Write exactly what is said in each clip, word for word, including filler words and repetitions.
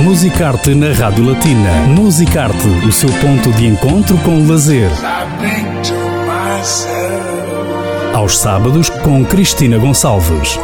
Musicarte na Rádio Latina. Musicarte, o seu ponto de encontro com o lazer. Aos sábados, com Cristina Gonçalves.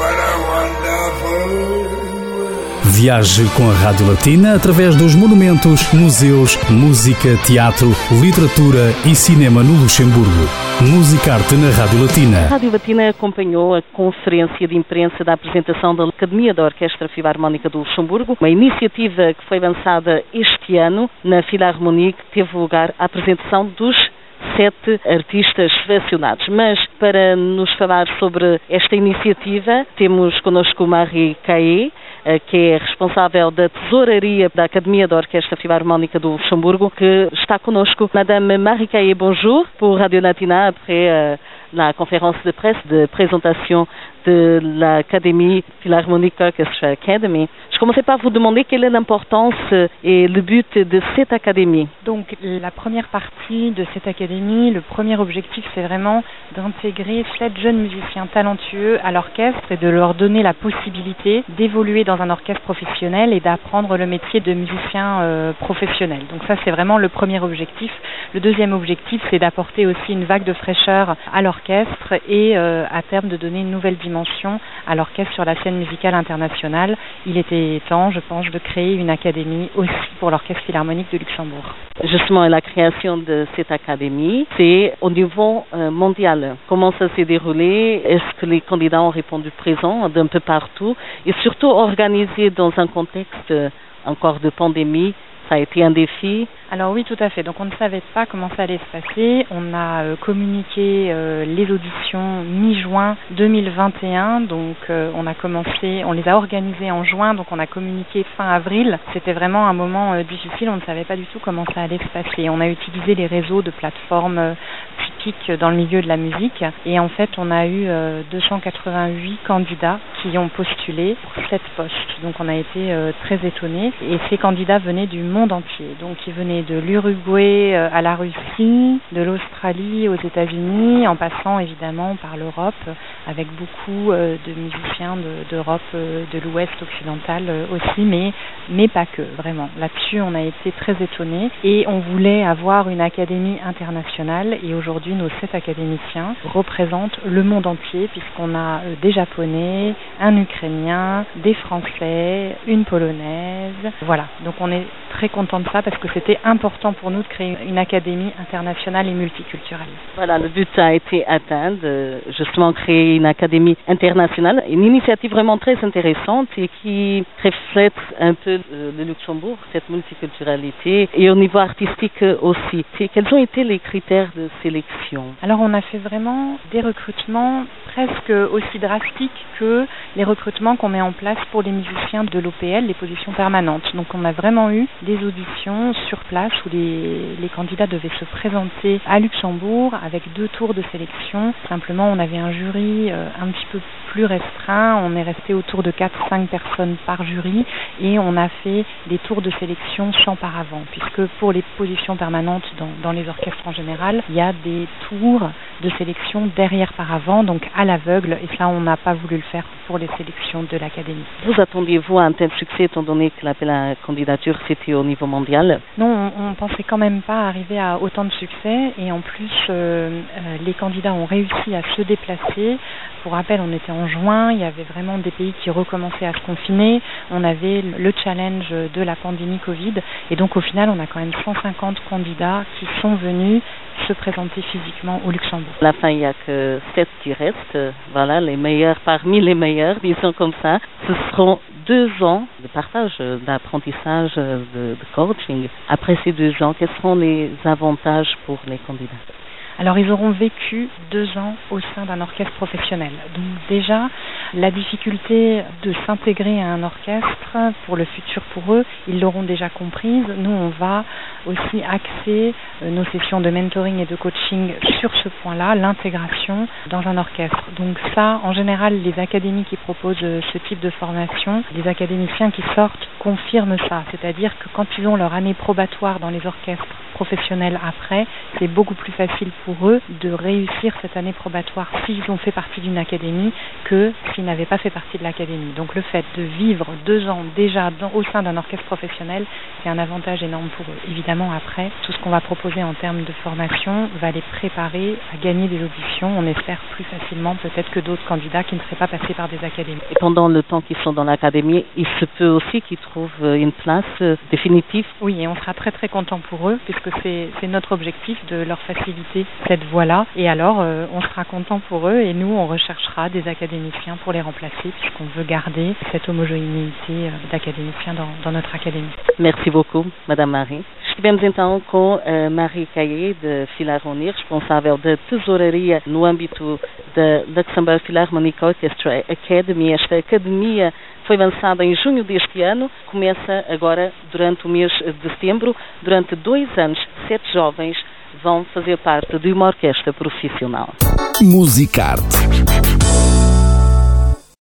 Viaje com a Rádio Latina através dos monumentos, museus, música, teatro, literatura e cinema no Luxemburgo. Musicarte na Rádio Latina. A Rádio Latina acompanhou a conferência de imprensa da apresentação da Academia da Orquestra Filarmónica do Luxemburgo, uma iniciativa que foi lançada este ano na Filarmonie, que teve lugar a apresentação dos sete artistas selecionados. Mas para nos falar sobre esta iniciativa, temos connosco Marie Caillé, que é responsável da tesouraria da Academia da Orquestra Filarmónica do Luxemburgo, que está connosco. Madame Marie Caillé, bonjour, pour Radio Latina, après euh, la conférence de presse de présentation de l'Académie Philharmonic Orchestra Academy. Je commençais par vous demander quelle est l'importance et le but de cette académie. Donc la première partie de cette académie, le premier objectif, c'est vraiment d'intégrer sept jeunes musiciens talentueux à l'orchestre et de leur donner la possibilité d'évoluer dans un orchestre professionnel et d'apprendre le métier de musicien euh, professionnel. Donc ça, c'est vraiment le premier objectif. Le deuxième objectif, c'est d'apporter aussi une vague de fraîcheur à l'orchestre et euh, à terme de donner une nouvelle dimension à l'orchestre sur la scène musicale internationale. Il était temps, je pense, de créer une académie aussi pour l'Orchestre Philharmonique de Luxembourg. Justement, la création de cette académie, c'est au niveau euh, mondial. Comment ça s'est déroulé? Est-ce que les candidats ont répondu présent d'un peu partout? Et surtout organisé dans un contexte euh, encore de pandémie, ça a été un défi? Alors oui, tout à fait. Donc on ne savait pas comment ça allait se passer. On a euh, communiqué euh, les auditions mi-juin deux mille vingt et un. Donc euh, on a commencé, on les a organisées en juin. Donc on a communiqué fin avril. C'était vraiment un moment euh, difficile. On ne savait pas du tout comment ça allait se passer. On a utilisé les réseaux de plateformes euh, typiques dans le milieu de la musique. Et en fait, on a eu euh, deux cent quatre-vingt-huit candidats qui ont postulé pour sept postes. Donc on a été euh, très étonnés. Et ces candidats venaient du monde entier. Donc ils venaient de l'Uruguay à la Russie, de l'Australie aux États-Unis, en passant évidemment par l'Europe, avec beaucoup de musiciens de, d'Europe, de l'Ouest occidental aussi, mais, mais pas que, vraiment. Là-dessus, on a été très étonnés et on voulait avoir une académie internationale et aujourd'hui, nos sept académiciens représentent le monde entier puisqu'on a des Japonais, un Ukrainien, des Français, une Polonaise. Voilà, donc on est très content de ça parce que c'était important pour nous de créer une académie internationale et multiculturelle. Voilà, le but a été atteint de justement créer une académie internationale, une initiative vraiment très intéressante et qui reflète un peu le Luxembourg, cette multiculturalité et au niveau artistique aussi. Et quels ont été les critères de sélection? Alors on a fait vraiment des recrutements presque aussi drastiques que les recrutements qu'on met en place pour les musiciens de l'O P L, les positions permanentes. Donc on a vraiment eu des auditions sur place où les, les candidats devaient se présenter à Luxembourg avec deux tours de sélection. Simplement, on avait un jury euh, un petit peu plus restreint. On est resté autour de quatre à cinq personnes par jury et on a fait des tours de sélection sans paravent, puisque pour les positions permanentes dans, dans les orchestres en général, il y a des tours de sélection derrière paravent, donc à l'aveugle, et ça, on n'a pas voulu le faire pour les sélections de l'Académie. Vous attendiez-vous à un tel succès, étant donné que l'appel à la candidature, c'était au niveau mondial? Non, on, on pensait quand même pas arriver à autant de succès, et en plus, euh, euh, les candidats ont réussi à se déplacer. Pour rappel, on était en juin, il y avait vraiment des pays qui recommençaient à se confiner, on avait le challenge de la pandémie Covid, et donc au final, on a quand même cent cinquante candidats qui sont venus se présenter physiquement au Luxembourg. À la fin, il n'y a que sept qui restent, voilà, les meilleurs parmi les meilleurs, disons comme ça. Ce seront deux ans de partage, d'apprentissage, de, de coaching. Après ces deux ans, quels seront les avantages pour les candidats? Alors, ils auront vécu deux ans au sein d'un orchestre professionnel. Donc déjà, la difficulté de s'intégrer à un orchestre pour le futur pour eux, ils l'auront déjà comprise. Nous, on va aussi axer nos sessions de mentoring et de coaching sur ce point-là, l'intégration dans un orchestre. Donc ça, en général, les académies qui proposent ce type de formation, les académiciens qui sortent confirment ça. C'est-à-dire que quand ils ont leur année probatoire dans les orchestres professionnels après, c'est beaucoup plus facile pour eux de réussir cette année probatoire s'ils ont fait partie d'une académie que s'ils n'avaient pas fait partie de l'académie. Donc le fait de vivre deux ans déjà dans, au sein d'un orchestre professionnel, c'est un avantage énorme pour eux. Évidemment, après, tout ce qu'on va proposer en termes de formation va les préparer à gagner des auditions, on espère plus facilement peut-être que d'autres candidats qui ne seraient pas passés par des académies. Et pendant le temps qu'ils sont dans l'académie, il se peut aussi qu'ils trouvent une place définitive? Oui, et on sera très très content pour eux puisque c'est, c'est notre objectif de leur faciliter cette voie-là. Et alors, euh, on sera content pour eux et nous, on recherchera des académiciens pour les remplacer puisqu'on veut garder cette homogénéité d'académiciens dans, dans notre académie. Merci beaucoup, Madame Marie. Estivemos então com a Marie Caillé, de Philharmonie, responsável da tesouraria no âmbito da Luxembourg Philharmonic Orchestra Academy. Esta academia foi lançada em junho deste ano, começa agora durante o mês de setembro. Durante dois anos, sete jovens vão fazer parte de uma orquestra profissional. Musicarte.